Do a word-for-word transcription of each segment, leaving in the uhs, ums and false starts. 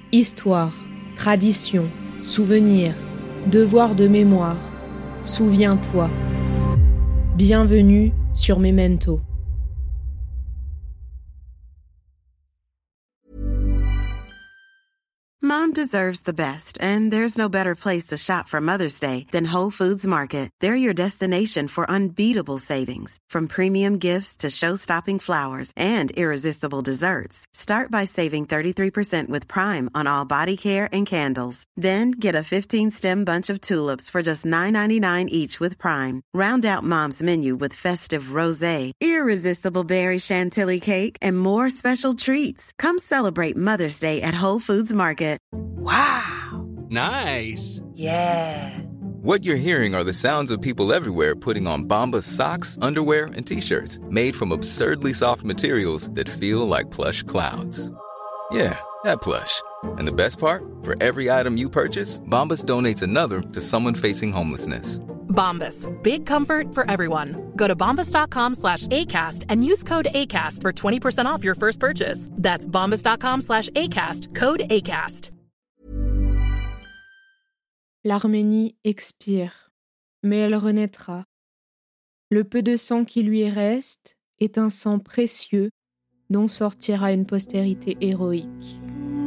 Histoire, tradition, souvenir, devoir de mémoire, souviens-toi. Bienvenue sur Memento. Mom deserves the best, and there's no better place to shop for Mother's Day than Whole Foods Market. They're your destination for unbeatable savings, from premium gifts to show-stopping flowers and irresistible desserts. Start by saving thirty-three percent with Prime on all body care and candles. Then get a fifteen-stem bunch of tulips for just nine ninety-nine each with Prime. Round out Mom's menu with festive rosé, irresistible berry chantilly cake, and more special treats. Come celebrate Mother's Day at Whole Foods Market. Wow! Nice! Yeah! What you're hearing are the sounds of people everywhere putting on Bombas socks, underwear, and T-shirts made from absurdly soft materials that feel like plush clouds. Yeah, that plush. And the best part? For every item you purchase, Bombas donates another to someone facing homelessness. Bombas. Big comfort for everyone. Go to bombas.com slash ACAST and use code ACAST for twenty percent off your first purchase. That's bombas.com slash ACAST. Code ACAST. L'Arménie expire, mais elle renaîtra. Le peu de sang qui lui reste est un sang précieux dont sortira une postérité héroïque.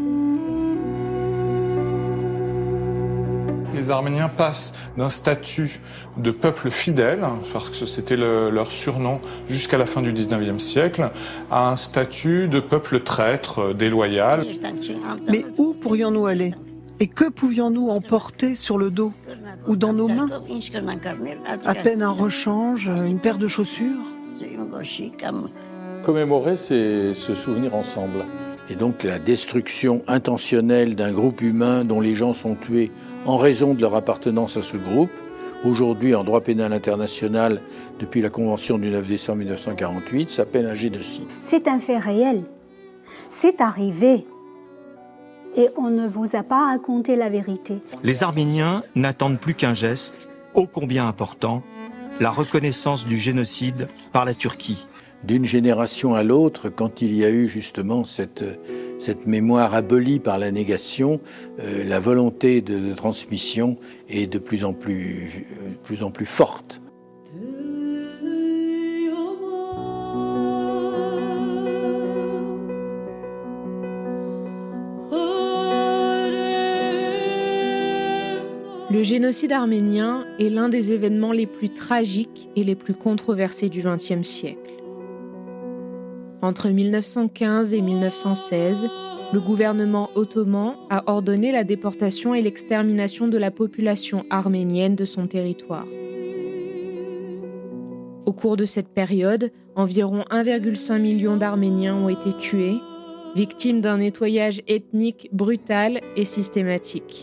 Les Arméniens passent d'un statut de peuple fidèle, parce que c'était le, leur surnom jusqu'à la fin du dix-neuvième siècle, à un statut de peuple traître, déloyal. Mais où pourrions-nous aller ? Et que pouvions-nous emporter sur le dos ou dans nos mains ? À peine un rechange, une paire de chaussures ? Commémorer, c'est se souvenir ensemble. Et donc la destruction intentionnelle d'un groupe humain dont les gens sont tués en raison de leur appartenance à ce groupe, aujourd'hui en droit pénal international, depuis la Convention du neuf décembre mille neuf cent quarante-huit, s'appelle un génocide. C'est un fait réel. C'est arrivé. Et on ne vous a pas raconté la vérité. Les Arméniens n'attendent plus qu'un geste, ô combien important, la reconnaissance du génocide par la Turquie. D'une génération à l'autre, quand il y a eu justement cette, cette mémoire abolie par la négation, euh, la volonté de, de transmission est de plus en plus, de plus en plus forte. Le génocide arménien est l'un des événements les plus tragiques et les plus controversés du vingtième siècle. Entre mille neuf cent quinze et mille neuf cent seize, le gouvernement ottoman a ordonné la déportation et l'extermination de la population arménienne de son territoire. Au cours de cette période, environ un virgule cinq million d'Arméniens ont été tués, victimes d'un nettoyage ethnique brutal et systématique.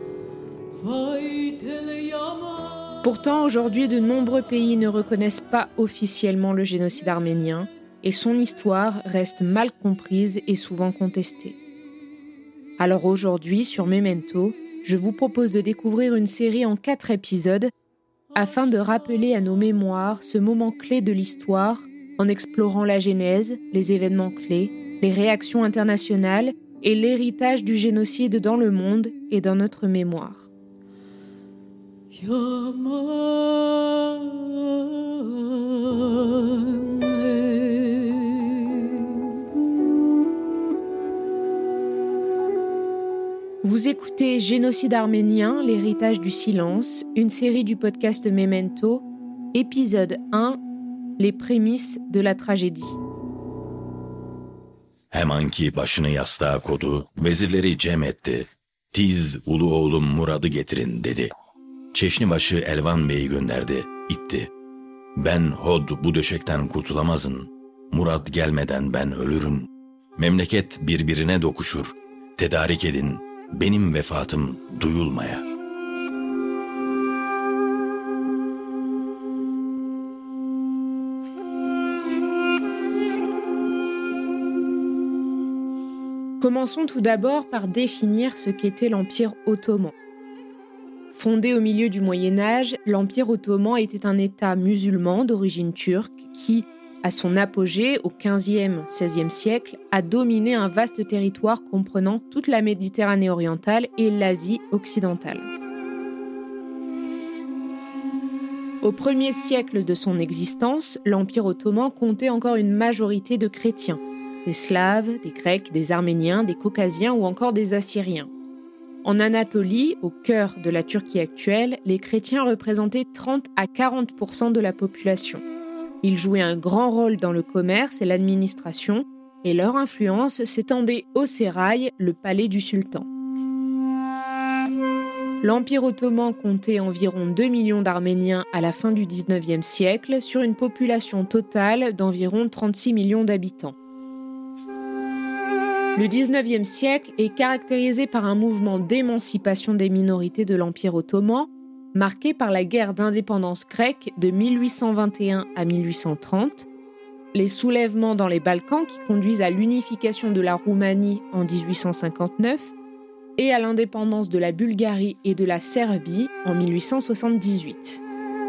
Pourtant, aujourd'hui, de nombreux pays ne reconnaissent pas officiellement le génocide arménien et son histoire reste mal comprise et souvent contestée. Alors aujourd'hui, sur Memento, je vous propose de découvrir une série en quatre épisodes afin de rappeler à nos mémoires ce moment clé de l'histoire en explorant la genèse, les événements clés, les réactions internationales et l'héritage du génocide dans le monde et dans notre mémoire. Vous écoutez Génocide arménien, l'héritage du silence, une série du podcast Memento, épisode un, les prémices de la tragédie. Hemen ki başını yastığa kodu, vezirleri cem etti. Tiz ulu oğlum Murad'ı getirin dedi. Çeşnibaşı Elvan Bey'i gönderdi, itti. Ben Hod bu döşekten kurtulamazın. Murad gelmeden ben ölürüm. Memleket birbirine dokuşur. Tedarik edin, benim vefatım duyulmaya. Commençons tout d'abord par définir ce qu'était l'Empire ottoman. Fondé au milieu du Moyen Âge, l'Empire ottoman était un État musulman d'origine turque qui, à son apogée au quinzième seizième siècle, a dominé un vaste territoire comprenant toute la Méditerranée orientale et l'Asie occidentale. Au premier siècle de son existence, l'Empire ottoman comptait encore une majorité de chrétiens, des Slaves, des Grecs, des Arméniens, des Caucasiens ou encore des Assyriens. En Anatolie, au cœur de la Turquie actuelle, les chrétiens représentaient trente à quarante pour cent de la population. Ils jouaient un grand rôle dans le commerce et l'administration, et leur influence s'étendait au sérail, le palais du sultan. L'Empire ottoman comptait environ deux millions d'Arméniens à la fin du dix-neuvième siècle, sur une population totale d'environ trente-six millions d'habitants. Le dix-neuvième siècle est caractérisé par un mouvement d'émancipation des minorités de l'Empire ottoman, marqué par la guerre d'indépendance grecque de mille huit cent vingt et un à mille huit cent trente, les soulèvements dans les Balkans qui conduisent à l'unification de la Roumanie en dix-huit cent cinquante-neuf et à l'indépendance de la Bulgarie et de la Serbie en mille huit cent soixante-dix-huit.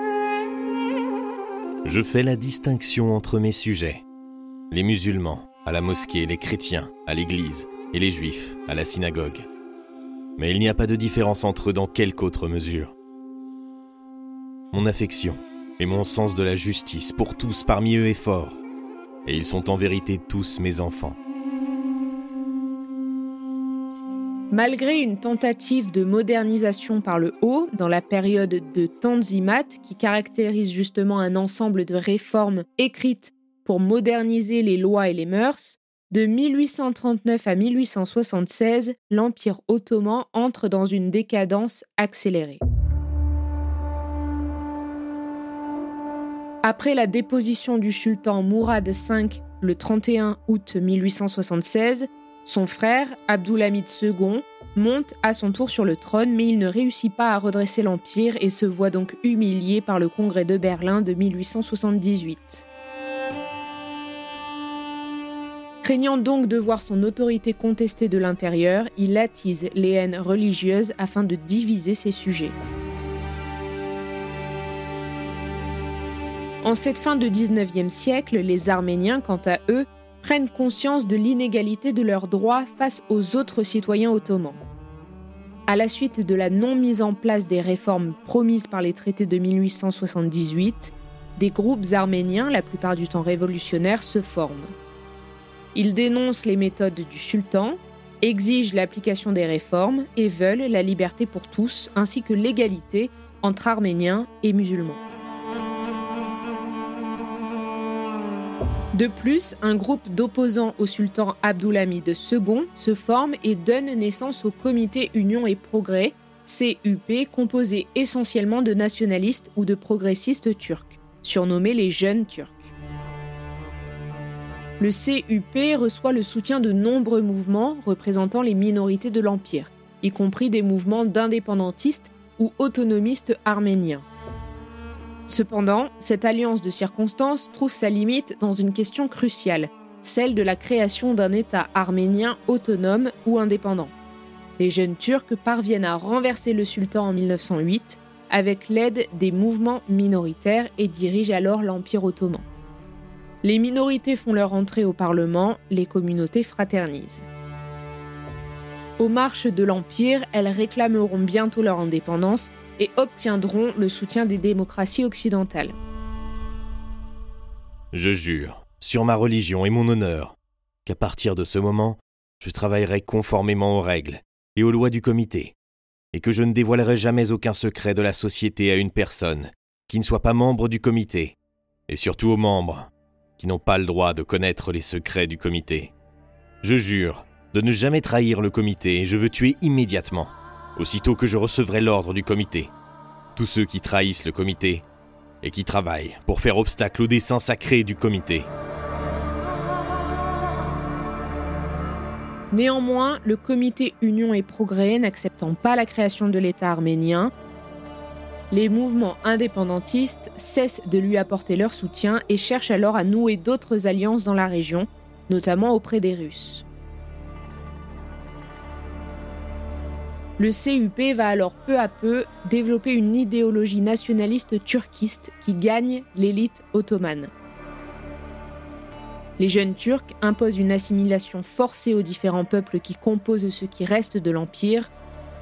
Je fais la distinction entre mes sujets, les musulmans à la mosquée, les chrétiens à l'église et les juifs à la synagogue. Mais il n'y a pas de différence entre eux dans quelque autre mesure. Mon affection et mon sens de la justice pour tous parmi eux est fort, et ils sont en vérité tous mes enfants. Malgré une tentative de modernisation par le haut, dans la période de Tanzimat, qui caractérise justement un ensemble de réformes écrites pour moderniser les lois et les mœurs, de mille huit cent trente-neuf à mille huit cent soixante-seize, l'Empire ottoman entre dans une décadence accélérée. Après la déposition du sultan Mourad cinq le trente et un août mille huit cent soixante-seize, son frère, Abdulhamid second, monte à son tour sur le trône, mais il ne réussit pas à redresser l'Empire et se voit donc humilié par le Congrès de Berlin de mille huit cent soixante-dix-huit. Craignant donc de voir son autorité contestée de l'intérieur, il attise les haines religieuses afin de diviser ses sujets. En cette fin de dix-neuvième siècle, les Arméniens, quant à eux, prennent conscience de l'inégalité de leurs droits face aux autres citoyens ottomans. À la suite de la non-mise en place des réformes promises par les traités de mille huit cent soixante-dix-huit, des groupes arméniens, la plupart du temps révolutionnaires, se forment. Ils dénoncent les méthodes du sultan, exigent l'application des réformes et veulent la liberté pour tous, ainsi que l'égalité entre Arméniens et musulmans. De plus, un groupe d'opposants au sultan Abdulhamid second se forme et donne naissance au Comité Union et Progrès, C U P, composé essentiellement de nationalistes ou de progressistes turcs, surnommés les Jeunes Turcs. Le C U P reçoit le soutien de nombreux mouvements représentant les minorités de l'Empire, y compris des mouvements d'indépendantistes ou autonomistes arméniens. Cependant, cette alliance de circonstances trouve sa limite dans une question cruciale, celle de la création d'un État arménien autonome ou indépendant. Les Jeunes Turcs parviennent à renverser le sultan en mille neuf cent huit avec l'aide des mouvements minoritaires et dirigent alors l'Empire ottoman. Les minorités font leur entrée au Parlement, les communautés fraternisent. Aux marches de l'Empire, elles réclameront bientôt leur indépendance et obtiendront le soutien des démocraties occidentales. Je jure, sur ma religion et mon honneur, qu'à partir de ce moment, je travaillerai conformément aux règles et aux lois du comité, et que je ne dévoilerai jamais aucun secret de la société à une personne qui ne soit pas membre du comité, et surtout aux membres qui n'ont pas le droit de connaître les secrets du comité. Je jure de ne jamais trahir le comité et je veux tuer immédiatement, aussitôt que je recevrai l'ordre du comité, tous ceux qui trahissent le comité et qui travaillent pour faire obstacle au dessein sacré du comité. Néanmoins, le comité Union et Progrès n'acceptant pas la création de l'État arménien, les mouvements indépendantistes cessent de lui apporter leur soutien et cherchent alors à nouer d'autres alliances dans la région, notamment auprès des Russes. Le C U P va alors peu à peu développer une idéologie nationaliste turquiste qui gagne l'élite ottomane. Les jeunes Turcs imposent une assimilation forcée aux différents peuples qui composent ce qui reste de l'Empire.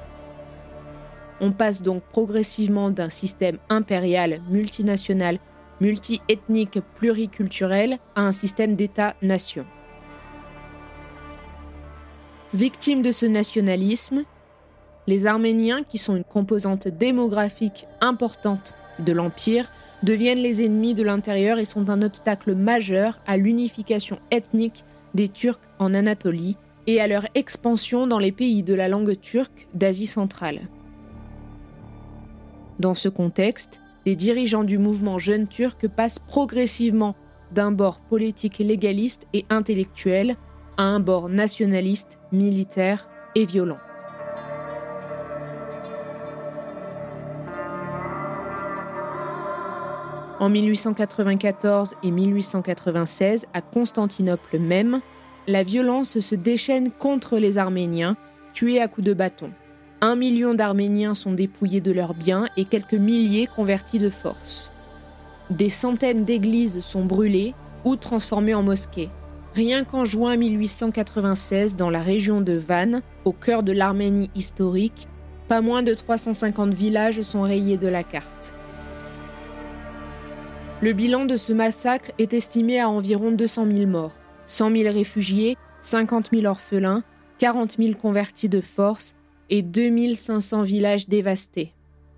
On passe donc progressivement d'un système impérial, multinational, multi-ethnique, pluriculturel à un système d'État-nation. Victimes de ce nationalisme, les Arméniens, qui sont une composante démographique importante de l'Empire, deviennent les ennemis de l'intérieur et sont un obstacle majeur à l'unification ethnique des Turcs en Anatolie et à leur expansion dans les pays de la langue turque d'Asie centrale. Dans ce contexte, les dirigeants du mouvement Jeunes Turcs passent progressivement d'un bord politique légaliste et intellectuel à un bord nationaliste, militaire et violent. En mille huit cent quatre-vingt-quatorze et mille huit cent quatre-vingt-seize, à Constantinople même, la violence se déchaîne contre les Arméniens, tués à coups de bâton. Un million d'Arméniens sont dépouillés de leurs biens et quelques milliers convertis de force. Des centaines d'églises sont brûlées ou transformées en mosquées. Rien qu'en juin mille huit cent quatre-vingt-seize, dans la région de Van, au cœur de l'Arménie historique, pas moins de trois cent cinquante villages sont rayés de la carte. Le bilan de ce massacre est estimé à environ deux cent mille morts, cent mille réfugiés, cinquante mille orphelins, quarante mille convertis de force et deux mille cinq cents villages dévastés.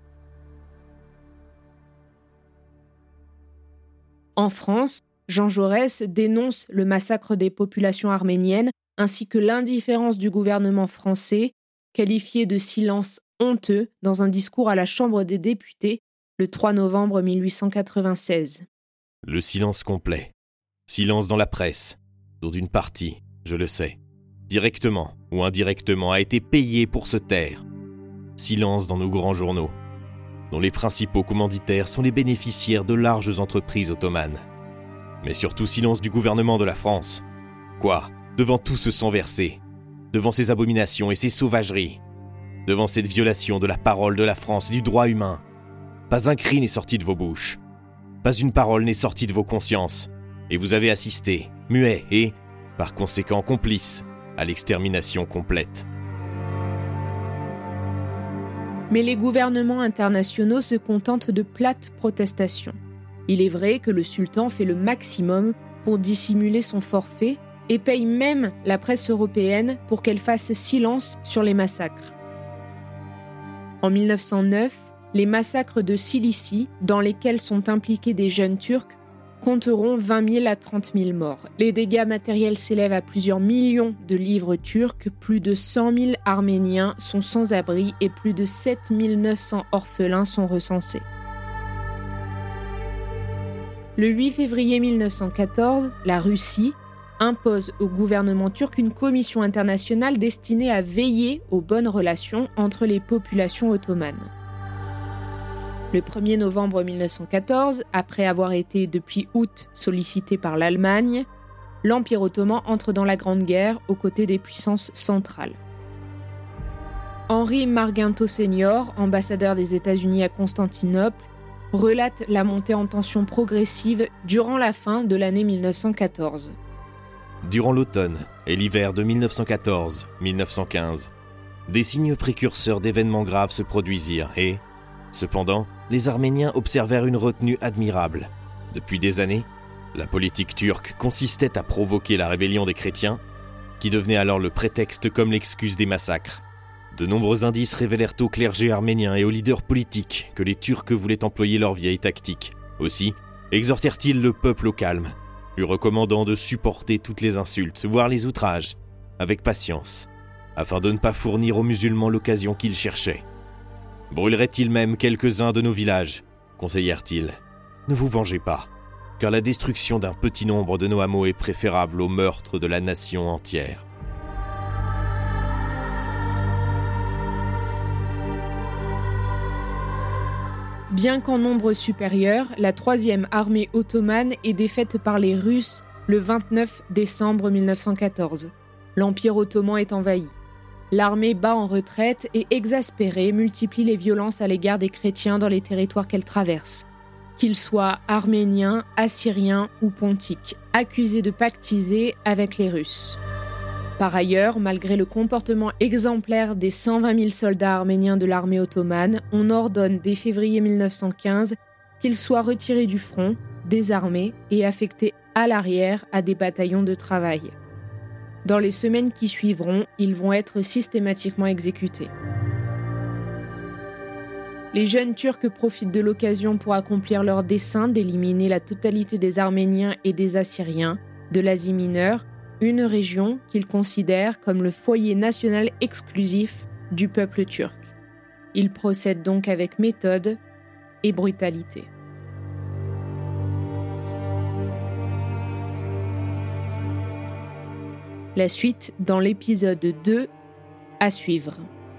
En France, Jean Jaurès dénonce le massacre des populations arméniennes ainsi que l'indifférence du gouvernement français, qualifié de silence honteux dans un discours à la Chambre des députés le trois novembre mille huit cent quatre-vingt-seize. Le silence complet. Silence dans la presse, dont une partie, je le sais, directement ou indirectement a été payée pour se taire. Silence dans nos grands journaux, dont les principaux commanditaires sont les bénéficiaires de larges entreprises ottomanes. Mais surtout silence du gouvernement de la France. Quoi ? Devant tout ce sang versé, devant ces abominations et ces sauvageries, devant cette violation de la parole de la France et du droit humain, pas un cri n'est sorti de vos bouches, pas une parole n'est sortie de vos consciences, et vous avez assisté, muet et, par conséquent complice, à l'extermination complète. Mais les gouvernements internationaux se contentent de plates protestations. Il est vrai que le sultan fait le maximum pour dissimuler son forfait et paye même la presse européenne pour qu'elle fasse silence sur les massacres. En mille neuf cent neuf, les massacres de Cilicie, dans lesquels sont impliqués des jeunes Turcs, compteront vingt mille à trente mille morts. Les dégâts matériels s'élèvent à plusieurs millions de livres turcs, plus de cent mille Arméniens sont sans abri et plus de sept mille neuf cents orphelins sont recensés. Le huit février mille neuf cent quatorze, la Russie impose au gouvernement turc une commission internationale destinée à veiller aux bonnes relations entre les populations ottomanes. Le premier novembre mille neuf cent quatorze, après avoir été depuis août sollicité par l'Allemagne, l'Empire ottoman entre dans la Grande Guerre aux côtés des puissances centrales. Henri Marginto senior, ambassadeur des États-Unis à Constantinople, relate la montée en tension progressive durant la fin de l'année mille neuf cent quatorze. Durant l'automne et l'hiver de mille neuf cent quatorze mille neuf cent quinze, des signes précurseurs d'événements graves se produisirent et, cependant, les Arméniens observèrent une retenue admirable. Depuis des années, la politique turque consistait à provoquer la rébellion des chrétiens, qui devenait alors le prétexte comme l'excuse des massacres. De nombreux indices révélèrent au clergé arménien et aux leaders politiques que les Turcs voulaient employer leur vieille tactique. Aussi, exhortèrent-ils le peuple au calme, lui recommandant de supporter toutes les insultes, voire les outrages, avec patience, afin de ne pas fournir aux musulmans l'occasion qu'ils cherchaient. Brûlerait-il même quelques-uns de nos villages, conseillèrent-ils. Ne vous vengez pas, car la destruction d'un petit nombre de nos hameaux est préférable au meurtre de la nation entière. Bien qu'en nombre supérieur, la troisième armée ottomane est défaite par les Russes le vingt-neuf décembre mille neuf cent quatorze. L'Empire ottoman est envahi. L'armée bat en retraite et, exaspérée, multiplie les violences à l'égard des chrétiens dans les territoires qu'elle traverse. qu'ils soient arméniens, assyriens ou pontiques, accusés de pactiser avec les Russes. Par ailleurs, malgré le comportement exemplaire des cent vingt mille soldats arméniens de l'armée ottomane, on ordonne dès février mille neuf cent quinze qu'ils soient retirés du front, désarmés et affectés à l'arrière à des bataillons de travail. Dans les semaines qui suivront, ils vont être systématiquement exécutés. Les jeunes Turcs profitent de l'occasion pour accomplir leur dessein d'éliminer la totalité des Arméniens et des Assyriens de l'Asie mineure, une région qu'ils considèrent comme le foyer national exclusif du peuple turc. Ils procèdent donc avec méthode et brutalité. La suite dans l'épisode deux à suivre.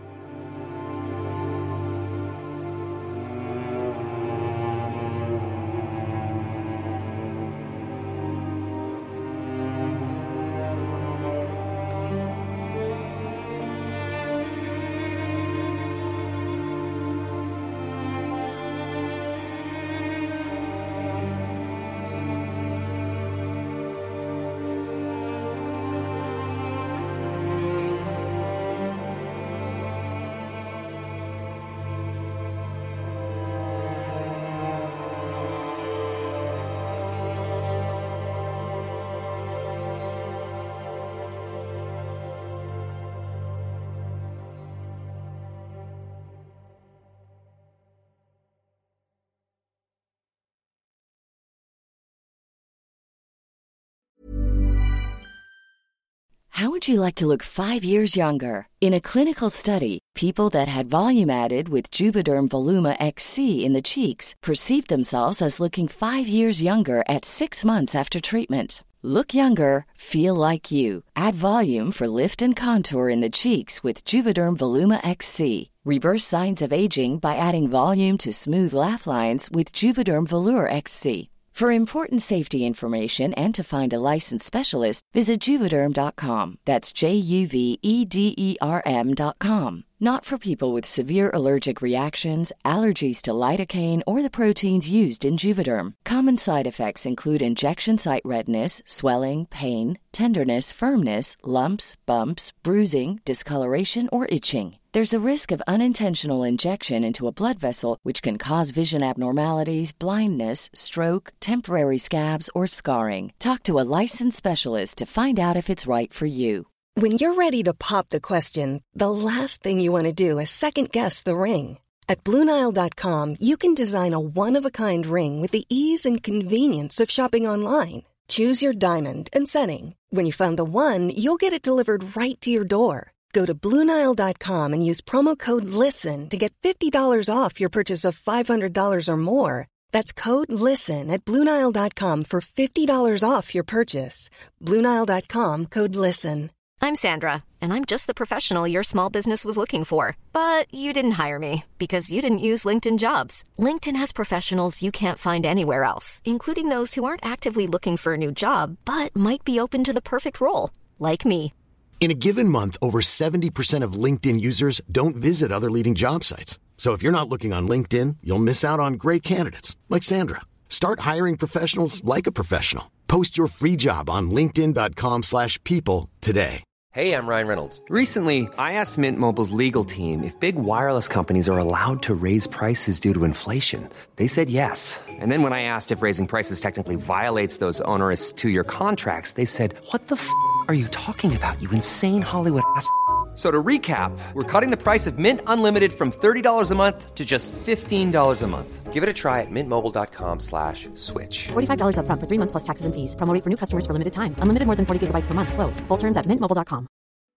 How would you like to look five years younger? In a clinical study, people that had volume added with Juvederm Voluma X C in the cheeks perceived themselves as looking five years younger at six months after treatment. Look younger, feel like you. Add volume for lift and contour in the cheeks with Juvederm Voluma X C. Reverse signs of aging by adding volume to smooth laugh lines with Juvederm Volure X C. For important safety information and to find a licensed specialist, visit Juvederm dot com. That's J U V E D E R M dot com. Not for people with severe allergic reactions, allergies to lidocaine, or the proteins used in Juvederm. Common side effects include injection site redness, swelling, pain, tenderness, firmness, lumps, bumps, bruising, discoloration, or itching. There's a risk of unintentional injection into a blood vessel, which can cause vision abnormalities, blindness, stroke, temporary scabs, or scarring. Talk to a licensed specialist to find out if it's right for you. When you're ready to pop the question, the last thing you want to do is second-guess the ring. At Blue Nile dot com, you can design a one-of-a-kind ring with the ease and convenience of shopping online. Choose your diamond and setting. When you find the one, you'll get it delivered right to your door. Go to Blue Nile dot com and use promo code LISTEN to get fifty dollars off your purchase of five hundred dollars or more. That's code LISTEN at Blue Nile dot com for fifty dollars off your purchase. Blue Nile dot com, code LISTEN. I'm Sandra, and I'm just the professional your small business was looking for. But you didn't hire me because you didn't use LinkedIn Jobs. LinkedIn has professionals you can't find anywhere else, including those who aren't actively looking for a new job, but might be open to the perfect role, like me. In a given month, over seventy percent of LinkedIn users don't visit other leading job sites. So if you're not looking on LinkedIn, you'll miss out on great candidates like Sandra. Start hiring professionals like a professional. Post your free job on linkedin dot com slash people today. Hey, I'm Ryan Reynolds. Recently, I asked Mint Mobile's legal team if big wireless companies are allowed to raise prices due to inflation. They said yes. And then when I asked if raising prices technically violates those onerous two-year contracts, they said, what the f*** are you talking about, you insane Hollywood ass f- So to recap, we're cutting the price of Mint Unlimited from thirty dollars a month to just fifteen dollars a month. Give it a try at mintmobile.com slash switch. forty-five dollars up front for three months plus taxes and fees. Promo rate for new customers for limited time. Unlimited more than forty gigabytes per month. Slows full terms at mint mobile dot com.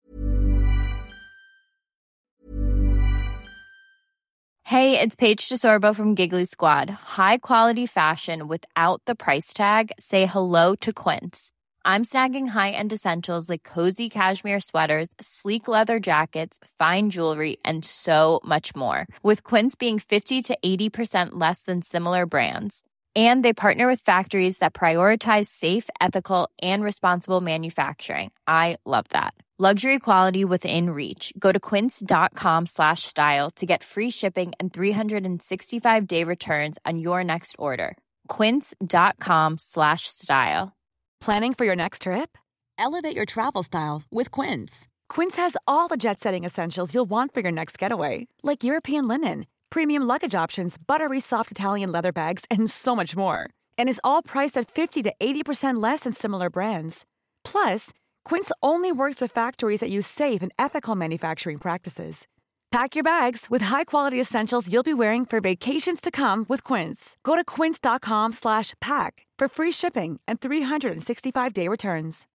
Hey, it's Paige DeSorbo from Giggly Squad. High quality fashion without the price tag. Say hello to Quince. I'm snagging high-end essentials like cozy cashmere sweaters, sleek leather jackets, fine jewelry, and so much more. With Quince being fifty to eighty percent less than similar brands. And they partner with factories that prioritize safe, ethical, and responsible manufacturing. I love that. Luxury quality within reach. Go to quince.com slash style to get free shipping and three sixty-five day returns on your next order. Quince.com slash style. Planning for your next trip? Elevate your travel style with Quince. Quince has all the jet-setting essentials you'll want for your next getaway, like European linen, premium luggage options, buttery soft Italian leather bags, and so much more. And is all priced at fifty to eighty percent less than similar brands. Plus, Quince only works with factories that use safe and ethical manufacturing practices. Pack your bags with high-quality essentials you'll be wearing for vacations to come with Quince. Go to quince.com slash pack for free shipping and three sixty-five day returns.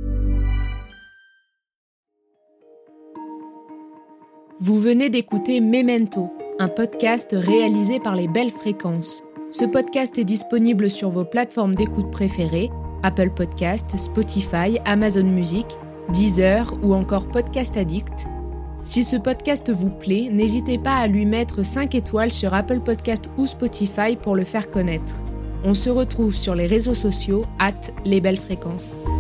Vous venez d'écouter Memento, un podcast réalisé par les Belles Fréquences. Ce podcast est disponible sur vos plateformes d'écoute préférées, Apple Podcasts, Spotify, Amazon Music, Deezer ou encore Podcast Addict. Si ce podcast vous plaît, n'hésitez pas à lui mettre cinq étoiles sur Apple Podcasts ou Spotify pour le faire connaître. On se retrouve sur les réseaux sociaux arobase les belles fréquences.